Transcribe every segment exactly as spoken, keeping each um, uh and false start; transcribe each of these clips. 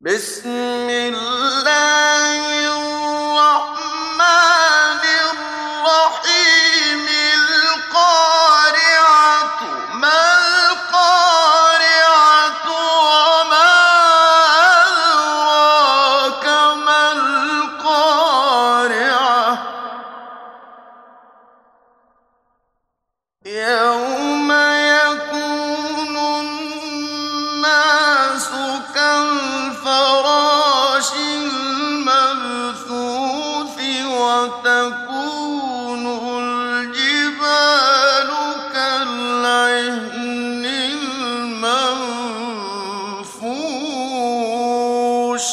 بسم الله الرحمن الرحيم القارعة ما القارعة وما أدراك ما القارعة يوم يكون الناس كالفراش المبثوث وتكون الجبال كالعهن المنفوش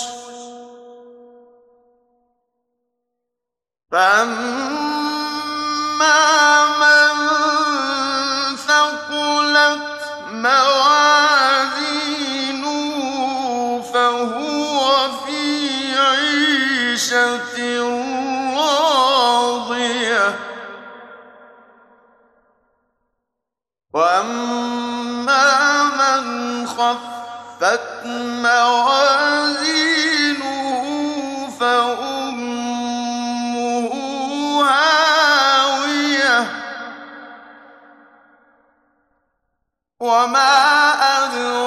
فأما من ثقلت موازينه فهو في عيشة راضية وأما من خفت موازينه فأمه هاوية وما أدراك